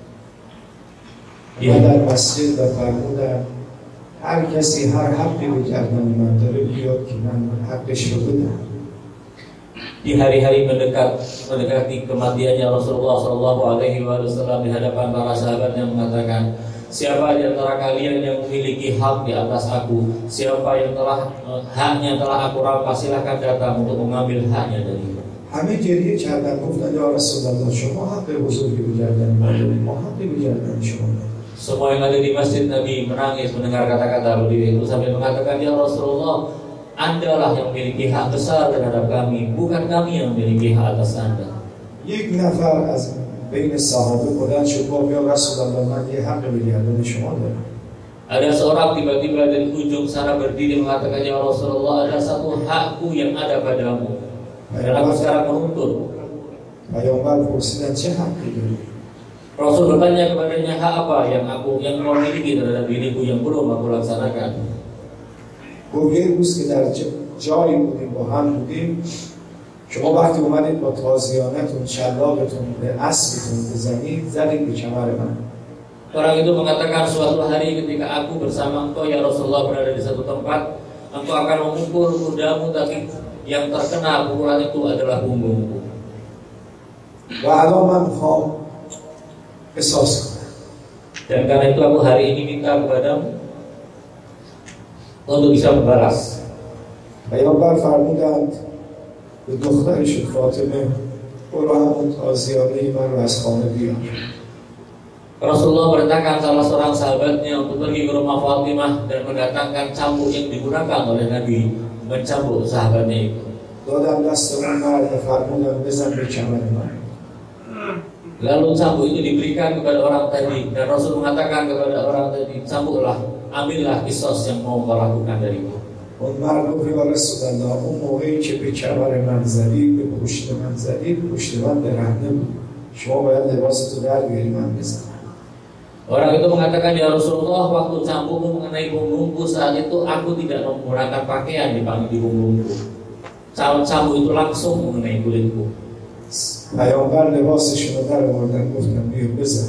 Ya. در مسجد و فرمودن هر کسی هر حقی به گردن من داره بیاد که من حقش رو بدم. Di hari-hari mendekat mendekati kematiannya Rasulullah Shallallahu Alaihi Wasallam di hadapan para sahabatnya mengatakan, siapa di antara kalian yang memiliki hak di atas aku, siapa yang telah haknya telah aku rampas, silakan datang untuk mengambil haknya dariku. همه گریه کردن، گفتن یا رسول الله شما حق بزرگی به گردن ما دارید، ما حقی به گردن شما داریم. Semua yang ada di masjid Nabi menangis mendengar kata-kata beliau itu sambil mengatakan, ya Rasulullah, Andalah yang memiliki hak besar terhadap kami, bukan kami yang memiliki hak atas Anda. یک نفر از بین صحابه بلند شد گفت یا رسول الله من یه حق به گردن شما دارم. Ada seorang tiba-tiba dari ujung sana berdiri mengatakan, ya Rasulullah, ada satu hakku yang ada padamu dan aku sekarang menuntut. پیامبر پرسیدن چه حقی داری؟ Rasul bertanya kepadanya, hak apa yang aku yang kau miliki terhadap diriku yang belum aku laksanakan? گفت یه روز که در جایی بودیم با هم بودیم، شما وقتی اومدید با تازیانتون شلاقتون به اسبتون بزنید، زدید به کمر من. Orang itu mengatakan, suatu hari ketika aku bersama engkau ya Rasulullah berada di satu tempat, engkau akan memukul kudamu, tapi yang terkena pukulan itu adalah punggungku. و الان من میخوام قصاص کنم. Dan karena itu aku hari ini minta kepadamu untuk bisa membalas. پیامبر فرمودند به دخترش فاطمه برو همون تازیانه من رو از خانه بیار. Rasulullah perintahkan salah seorang sahabatnya untuk pergi ke rumah Fatimah dan mendatangkan cambuk yang digunakan oleh Nabi mencambuk sahabatnya itu. دادم دست اون مرد فرمودم بزن به کمر من. Lalu cambuk itu diberikan kepada orang tadi dan Rasul mengatakan kepada orang tadi, cambuklah, ambillah kisos yang mau kau lakukan dariku. اون مرد گفت یا رسول الله اون موقعی که به کمر من زدید، به پشت من زدید، پشت من برهنه بود، شما باید لباستو در بیاری من بزنم. Orang itu mengatakan, ya Rasulullah, waktu cambukmu mengenai punggungku saat itu aku tidak menggunakan pakaian di di punggungku. Cambuk itu langsung mengenai kulitku. پیامبر لباسشون رو در آوردن گفتن بیا بزن.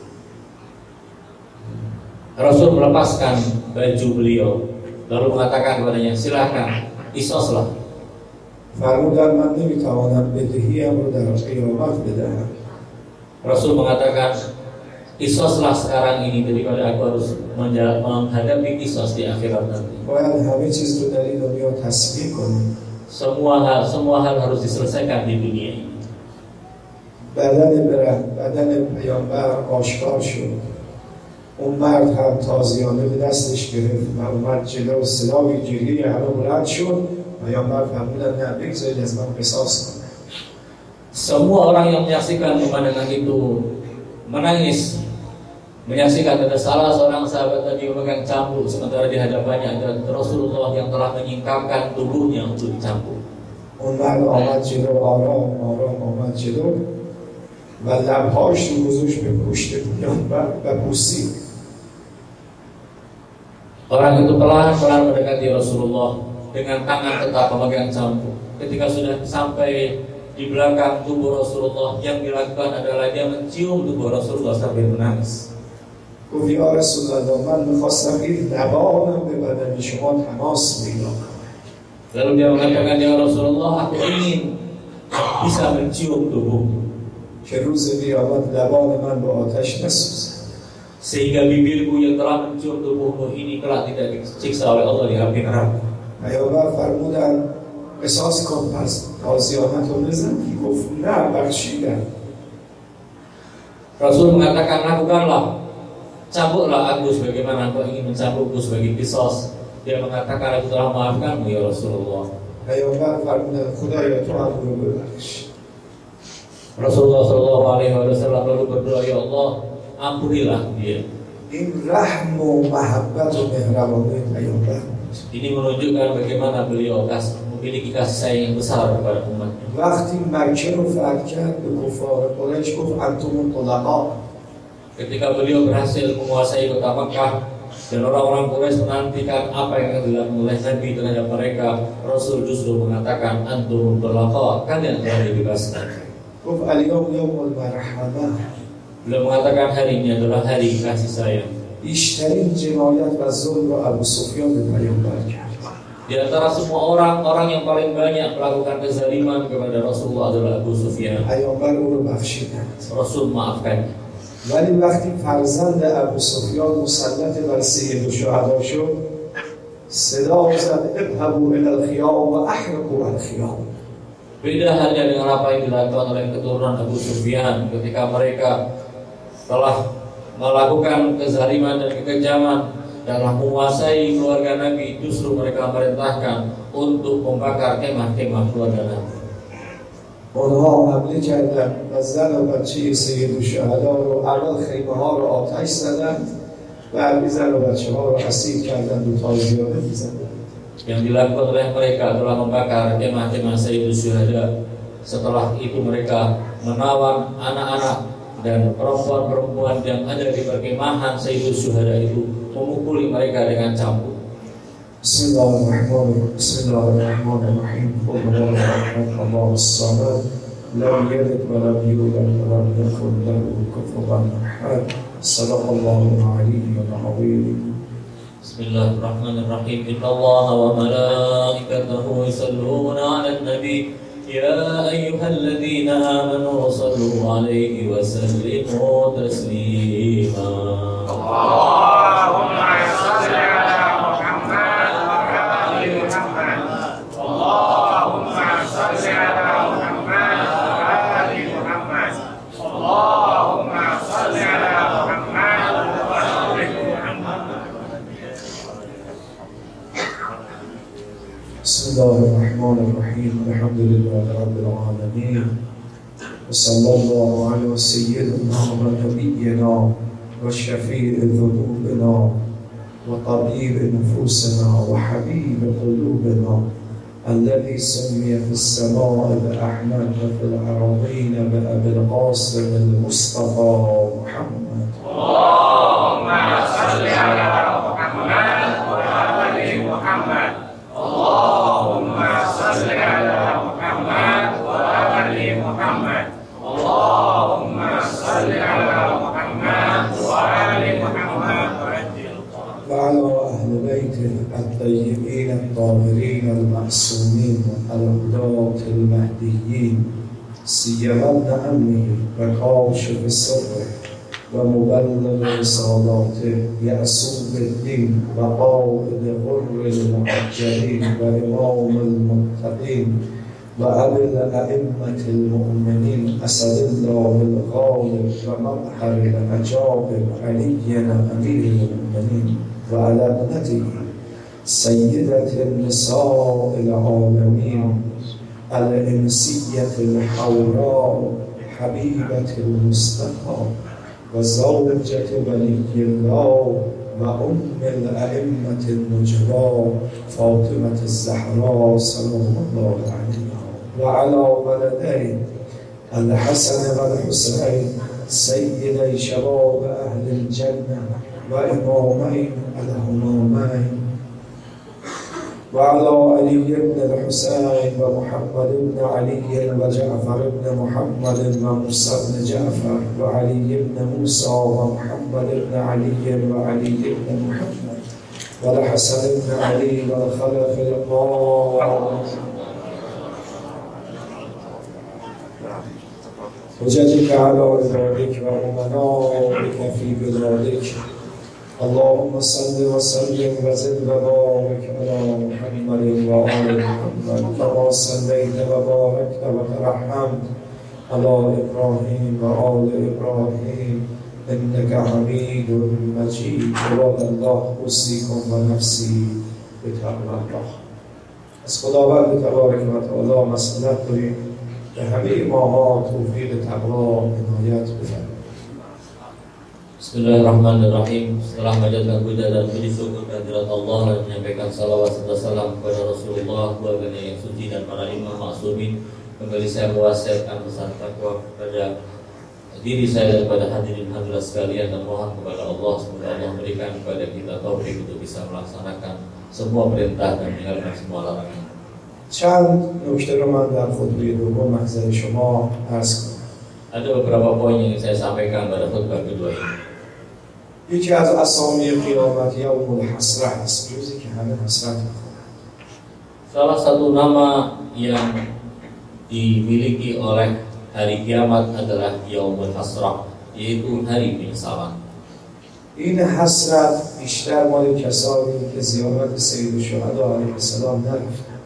Rasul melepaskan baju beliau lalu mengatakan kepadanya, silakan qisaslah. فرمودن من نمیتوانم بدهیم رو در قیامت بدهم. Rasul mengatakan, qisaslah sekarang ini daripada aku harus menghadapi qisas di akhirat nanti. باید همه چیز رو در این دنیا تسبیح کنیم. Semua hal semua hal harus diselesaikan di dunia ini. بدن بره بدن پیامبر آشکار شد. اون مرد هم تازیانه به دستش گرفت و اومد جلو صدای گریه همه بلند شد. پیامبر فرمودند نه بگذارید از من قصاص کنه. Semua orang yang menyaksikan pemandangan itu menangis, menyaksikan ada salah seorang sahabat tadi memegang cambuk, sementara di hadapannya ada Rasulullah yang telah menyingkapkan tubuhnya untuk dicambuk. اون مرد آمد جلو، آرام آرام آمد جلو و لبهاش رو گذاشت به پشت پیامبر و بوسید. Orang itu pelan-pelan mendekati Rasulullah dengan tangan tetap memegang cambuk. Ketika sudah sampai di belakang tubuh Rasulullah, yang dilakukan adalah dia mencium tubuh Rasulullah sambil menangis. گفت یا رسول الله من می‌خواستم این لبانم به بدن شما تماس پیدا کنه. Lalu dia mengatakan, ya Rasulullah, aku ingin bisa mencium tubuhmu, که روز قیامت لبان من به آتش نسوزد. sehingga bibirku yang telah mencium tubuhmu ini kelak tidak disiksa oleh Allah di api neraka. پیامبر فرمودند قصاص کن، پس تازیانت رو بزن. گفت نه، بخشیدم. Rasul mengatakan, lakukanlah, cambuklah aku sebagaimana engkau ingin mencambukku sebagai qisas. Dia mengatakan, aku telah maafkanmu ya Rasulullah. پیامبر فرمودند خدایا تو هم رو ببخش. Rasulullah Shallallahu Alaihi Wasallam lalu berdoa, ya Allah, ampunilah dia. این رحم و محبت و مهربانی پیامبر. Ini menunjukkan bagaimana beliau kas, memiliki kasih sayang yang besar kepada umatnya. وقتی مکه رو فتح کرد به کفار قریش گفت انتم الطلقاء. Ketika beliau berhasil menguasai kota Makkah dan orang-orang Quraisy menantikan apa yang akan dilakukan oleh Nabi terhadap mereka, Rasul justru mengatakan antum tulaqa, kalian telah dibebaskan. گفت الیوم یوم المرحمه. Beliau mengatakan hari ini adalah hari kasih sayang. بیشترین جنایت و ظلم رو ابو سفیان به پیامبر کرد. Di antara semua orang, orang yang paling banyak melakukan kezaliman kepada Rasulullah adalah Abu Sufyan. پیامبر او رو بخشیدند. Rasul maafkan. ولی وقتی فرزند ابو سفیان مسلط بر سید الشهدا شد، صدا زد اذهبوا الی الخیام و احرقوا الخیام. Beda halnya dengan apa yang dilakukan oleh keturunan Abu Sufyan ketika mereka telah melakukan kezaliman dan kekejaman dalam menguasai keluarga Nabi, justru mereka merintahkan untuk membakar kemah-kemah keluarga Nabi. اونها حمله کردند و زن و بچه سید الشهدا رو اول خیمه ها رو آتش زدند، بعد زن و بچه ها رو اسیر کردند و تازیانه می‌زدند. Yang dilakukan oleh mereka adalah membakar kemah-kemah Sayyidus Syuhada. Setelah itu mereka menawan anak-anak dan perempuan-perempuan yang ada di perkemahan Sayyidus Syuhada itu, memukuli mereka dengan cambuk. Bismillahirrahmanirrahim. Bismillahirrahmanirrahim. Allahu samad, lam yalid wa lam yulad wa lam yakul lahu kufuwan ahad. Shadaqallahu al-aliyyul azim. Bismillahirrahmanirrahim. Innallaha wa malaikatahu yusholluna 'alan nabi. Ya ayyuhalladzina amanu shallu 'alaihi wa sallimu taslima. Allahumma shalli ala Muhammad wa ali Muhammad. Allahumma shalli ala Muhammad wa ali Muhammad. Allahumma shalli ala Muhammad wa ali Muhammad. Bismillahirrahmanirrahim. Alhamdulillahi rabbil alamin. Wassallallahu ala sayyidina wa nabiyyina wa shafi'i dhunubina wa tabibi nufusina wa habibi qulubina alladhi summiya fis samaa'i bi Ahmad wa fil ardina bi Abil Qasim al-Mustafa Muhammad. Allahumma salli ala Muhammad wa ali Muhammad. Allahumma salli ala Muhammad wa ali Muhammad. Allahumma salli ala Muhammad wa ali Muhammad. وعلى أهل بيته الطيبين الطاهرين المعصومين الهداة المهديين سيما ابن عمه وكاشف سره ومبلغ رسالاته يعصوب الدين وقائد غر المحجلين وإمام المتقين وأبي الأئمة المؤمنين أسد الله الغالب ومبحر الأجابر علينا أمير المؤمنين وعلى ابنته سيدة النساء العالمين الإنسية الحوراء حبيبة المصطفى وزوجة ولي الله وأم الأئمة النجباء فاطمة الزهراء سلام الله عليها وعلى ولديه الحسن والحسين سيدي شباب أهل الجنة وإمامين الهمامين وعلى علي بن الحسين ومحمد بن علي وجعفر بن محمد وموسى بن جعفر وعلي بن موسى ومحمد بن علي وعلي بن محمد والحسن بن علي والخلف القائم حججك على عبادك وأمنائك في بلادك اللهم صل وسلم وزد وبارك على محمد وآل محمد كما صليت وباركت وترحمت على إبراهيم وآل إبراهيم إنك حميد مجيد عباد الله أوصيكم ونفسي بتقوى الله. از خداوند تبارک و تعالی مسئلت داریم به همه ماها توفیق تقوا عنایت بفرمایید. Bismillahirrahmanirrahim. Setelah menjadikan puja dan puji syukur kehadirat Allah dan menyampaikan salawat serta salam kepada Rasulullah, keluarganya yang suci dan para imam ma'sumin, kembali saya mewasiatkan pesan takwa kepada diri saya dan kepada hadirin hadirat sekalian, dan mohon kepada Allah semoga Allah memberikan kepada kita taufik untuk bisa melaksanakan semua perintah dan meninggalkan semua larangan. چند نکته رو من در خطبه دوم محضر شما عرض کنم. Ada beberapa poin yang saya sampaikan pada khutbah kedua ini. یکی از اسامی قیامت یوم الحسرة است، روزی که همه حسرت می‌خورند. Salah satu nama yang dimiliki oleh hari kiamat adalah Yaumul Hasrah, yaitu hari penyesalan. این حسرت بیشتر مال کسانی که زیارت سید الشهدا علیه السلام نرفتند.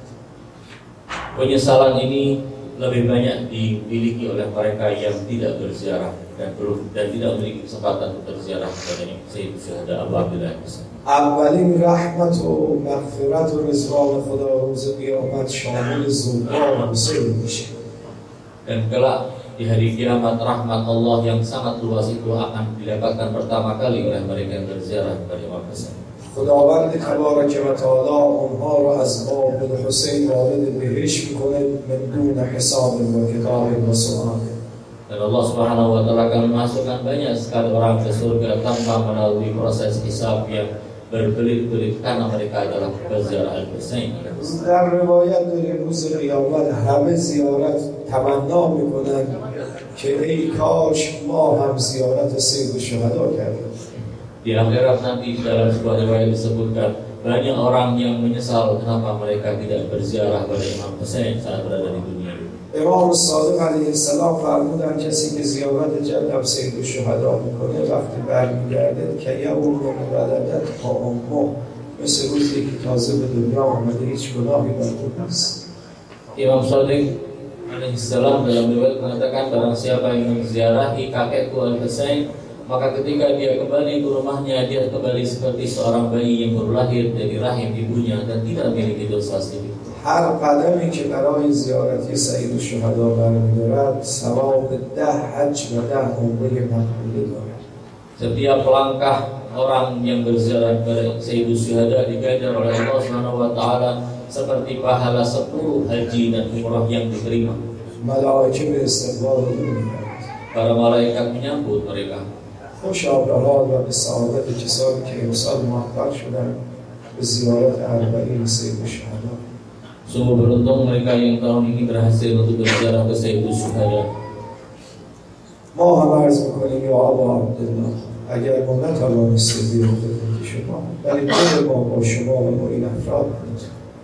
Penyesalan ini lebih banyak dimiliki oleh mereka yang tidak berziarah dan belum dan tidak memiliki kesempatan untuk berziarah kepada Sayyidul Syuhada Abu Abdillah. اولین رحمت و مغفرت و رضوان خدا روز قیامت شامل زوجان حسین میشه. Dan kelak di hari kiamat rahmat Allah yang sangat luas itu akan didapatkan pertama kali oleh mereka yang berziarah kepada Imam Husain. خداوند تبارک و تعالی اونها رو از باب الحسین وارد بهشت میکنه من دون حساب و کتاب و سؤال. Dan Allah Subhanahu wa taala akan memasukkan banyak sekali orang ke surga tanpa melalui proses hisab yang berbelit-belit karena mereka adalah berziarah al-Husain. در روایت داریم روز قیامت همه زیارت تمنا میکنن که ای کاش ما هم زیارت سید الشهدا کردیم. Di akhirat nanti dalam sebuah riwayat disebutkan banyak orang yang menyesal kenapa mereka tidak berziarah pada Imam Husain saat berada di dunia. امام صادق علیه السلام فرمودن کسی که زیارت جد سید الشهدا میکنه وقتی برمیگرده که یوم ولدت تا امه مثل روزی که تازه به دنیا آمده هیچ گناهی بر او نیست. Imam Shadiq alaihissalam dalam riwayat mengatakan barang siapa yang menziarahi kakekku Al-Husain, maka ketika dia kembali ke rumahnya dia kembali seperti seorang bayi yang baru lahir dari rahim ibunya dan tidak memiliki dosa sedikit. هر قدمی که برای زیارتی سید الشهدا برمی‌دارد ثواب ده حج و ده عمره مقبول دارد. Setiap langkah orang yang berziarah kepada Sayyidul Syuhada diganjar oleh Allah Subhanahu wa taala seperti pahala sepuluh haji dan umrah yang diterima. ملائکه به استقبال او می‌آیند. Para malaikat menyambut mereka. خوشا به حال و به سعادت کسانی که امسال موفق شدند به زیارت اربعین سید الشهدا. Sungguh beruntung mereka yang tahun ini berhasil untuk berziarah ke Sayyidul Syuhada. ما هم عرض میکنیم یا ابا عبدالله اگر ما نتوانستیم بیرون خدمت شما ولی دل ما با شما و با این افراد بود.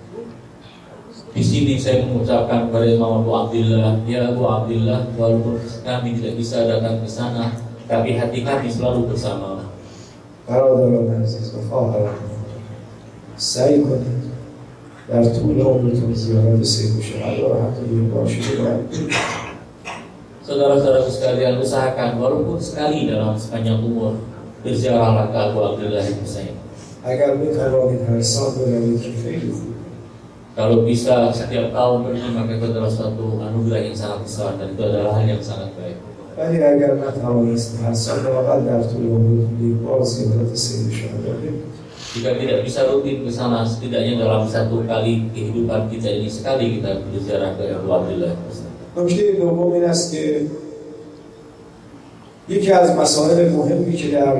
Di sini saya mengucapkan kepada Imam Abu Abdillah, ya Abu Abdillah, walaupun kami tidak bisa datang ke sana, tapi hati kami selalu bersama. برادران عزیز و خواهران سعی کنید در طول عمرتون زیارت سید الشهدا و حتی دو بار شده باید. Saudara-saudaraku sekalian, usahakan walaupun sekali dalam sepanjang umur berziarahlah ke Abu Abdullah Husain. اگر بتوانید هر سال بروید که خیلی خوب. Kalau bisa setiap tahun pergi, maka itu adalah suatu anugerah yang sangat besar dan itu adalah hal yang sangat baik. ولی اگر نتوانید هر سال واقعا در طول عمرتون یک بار زیارت سید الشهدا برید. Jika tidak bisa rutin ke sana, setidaknya dalam satu kali kehidupan kita ini sekali kita berziarah ke Abu Abdullah Husain. نکته دوم این است که یکی از مسائل مهمی که در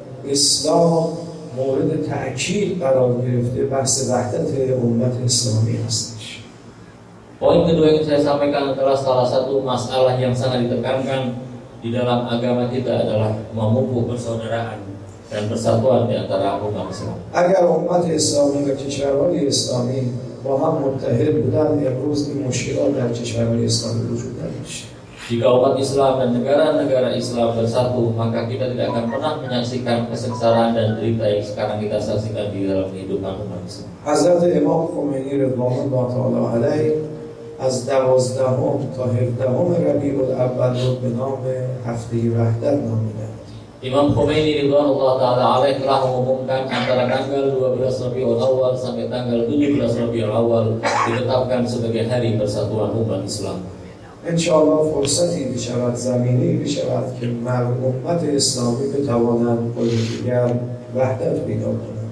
اسلام مورد تأکید قرار گرفته بحث وحدت امت اسلامی هستش. Poin kedua yang saya sampaikan adalah salah satu masalah yang sangat ditekankan di dalam agama kita adalah memupuk persaudaraan dan persatuan di antara umat Islam. اگر امت اسلامی و کشورهای اسلامی با هم متحد بودن امروز این مشکلات در کشورهای اسلامی وجود نداشت. Jika umat Islam dan negara-negara Islam bersatu, maka kita tidak akan pernah menyaksikan kesengsaraan dan derita yang sekarang kita saksikan di dalam kehidupan umat Islam. حضرت امام خمینی رضوان الله تعالی علیه از دوازدهم تا هفدهم ربیع الاول رو به نام هفته وحدت نامیدند. Imam Khomeini ridwanullah ta'ala alaih telah mengumumkan antara tanggal dua belas Rabiul Awal sampai tanggal tujuh belas Rabiul Awal ditetapkan sebagai hari persatuan umat Islam. انشاءالله فرصتی بشود، زمینه‌ای بشود که امت اسلامی بتوانند با یکدیگر وحدت پیدا کنند.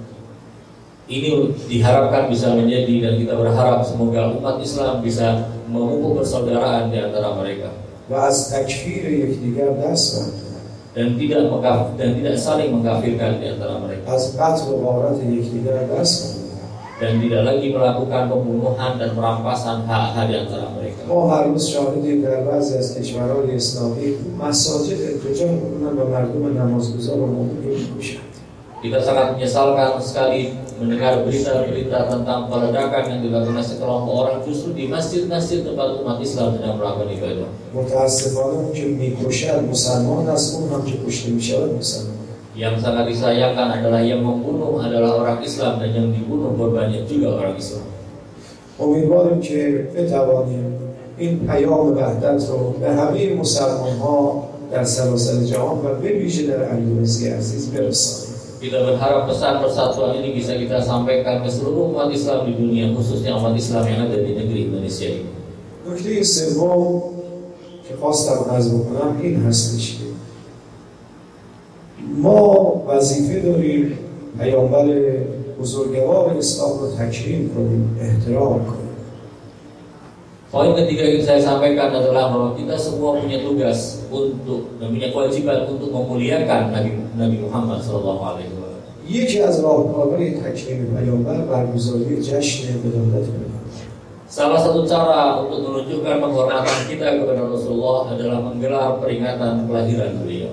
Ini diharapkan bisa menjadi dan kita berharap semoga umat Islam bisa memupuk persaudaraan di antara mereka. و از تکفیر یکدیگر دست بردارند. dan tidak mengkafir, dan tidak saling mengkafirkan di antara mereka. از قتل و غارت یکدیگر دست بردارند. Dan tidak lagi melakukan pembunuhan dan perampasan hak-hak di antara mereka. ما هر روز شاهدیم در بعضی از کشورهای اسلامی مساجد ارتجاع می‌کنند و مردم نمازگزار و مؤمن رو می‌کشند. Kita sangat menyesalkan sekali mendengar berita-berita tentang peledakan yang dilakukan sekelompok orang justru di masjid-masjid tempat umat Islam sedang melakukan ibadah. متأسفانه اون که می‌کشد مسلمان است، اون هم که کشته می‌شود مسلمان. Yang sangat disayangkan adalah yang membunuh adalah orang Islam dan yang dibunuh korbannya juga orang Islam. امیدواریم که بتوانیم این پیام وحدت رو به همه مسلمان‌ها در سراسر جهان و به ویژه در اندونزی عزیز برسانیم. Kita berharap pesan persatuan ini bisa kita sampaikan ke seluruh umat Islam di dunia, khususnya umat Islam yang ada di negeri Indonesia ini. نکته سوم که خواستم عرض بکنم این هستش که ما وظیفه داریم پیامبر بزرگوار اسلام رو تکریم کنیم، احترام کنیم. Poin ketiga yang saya sampaikan adalah bahwa kita semua punya tugas untuk dan punya kewajiban untuk memuliakan Nabi Nabi Muhammad shallallahu alaihi wasallam. یکی از راهکارهای تکریم پیامبر برگزاری جشن ولادت پیامبر. Salah satu cara untuk menunjukkan penghormatan kita kepada Rasulullah adalah menggelar peringatan kelahiran beliau.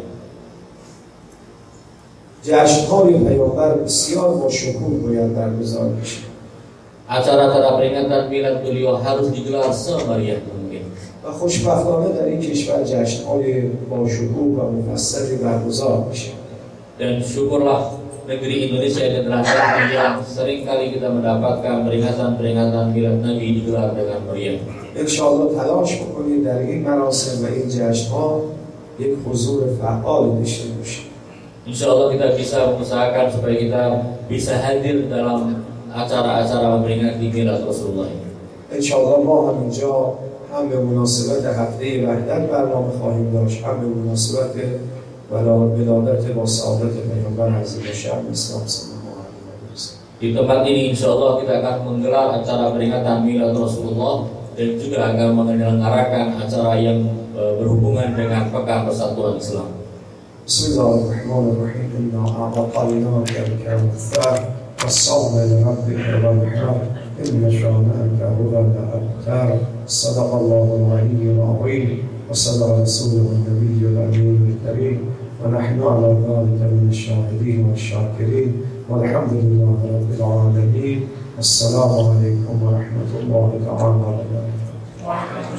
جشن‌های پیامبر بسیار با شکوه باید برگزار بشه. Acara-acara peringatan milad beliau harus digelar semeriah mungkin. و خوشبختانه در این کشور جشن‌های با شکوه و مفصلی برگزار میشه. Dan syukurlah negeri Indonesia ini adalah negeri yang sering kali kita mendapatkan peringatan-peringatan milad Nabi digelar dengan meriah. انشاءالله تلاش بکنید در این مراسم و این جشن‌ها یک حضور فعال داشته باشید. Insyaallah kita bisa mengusahakan supaya kita bisa hadir dalam acara-acara memperingati milad Rasulullah ini. انشاءالله ما هم اینجا هم به مناسبت هفته وحدت برنامه خواهیم داشت، هم به مناسبت ولادت با سعادت پیامبر عظیم الشأن اسلام صلی الله علیه و سلم. Di tempat ini insyaallah kita akan menggelar acara peringatan milad Rasulullah dan juga akan menyelenggarakan acara yang berhubungan dengan Pekan Persatuan Islam. بسم الله الرحمن الرحيم إنا أعطيناك الكوثر فصل لربك وانحر إن شانئك هو الأبتر. صدق الله العلي العظيم وصدق رسوله النبي الأمين الكريم ونحن على ذلك من الشاهدين والشاكرين والحمد لله رب العالمين. السلام عليكم ورحمة الله تعالى وبركاته.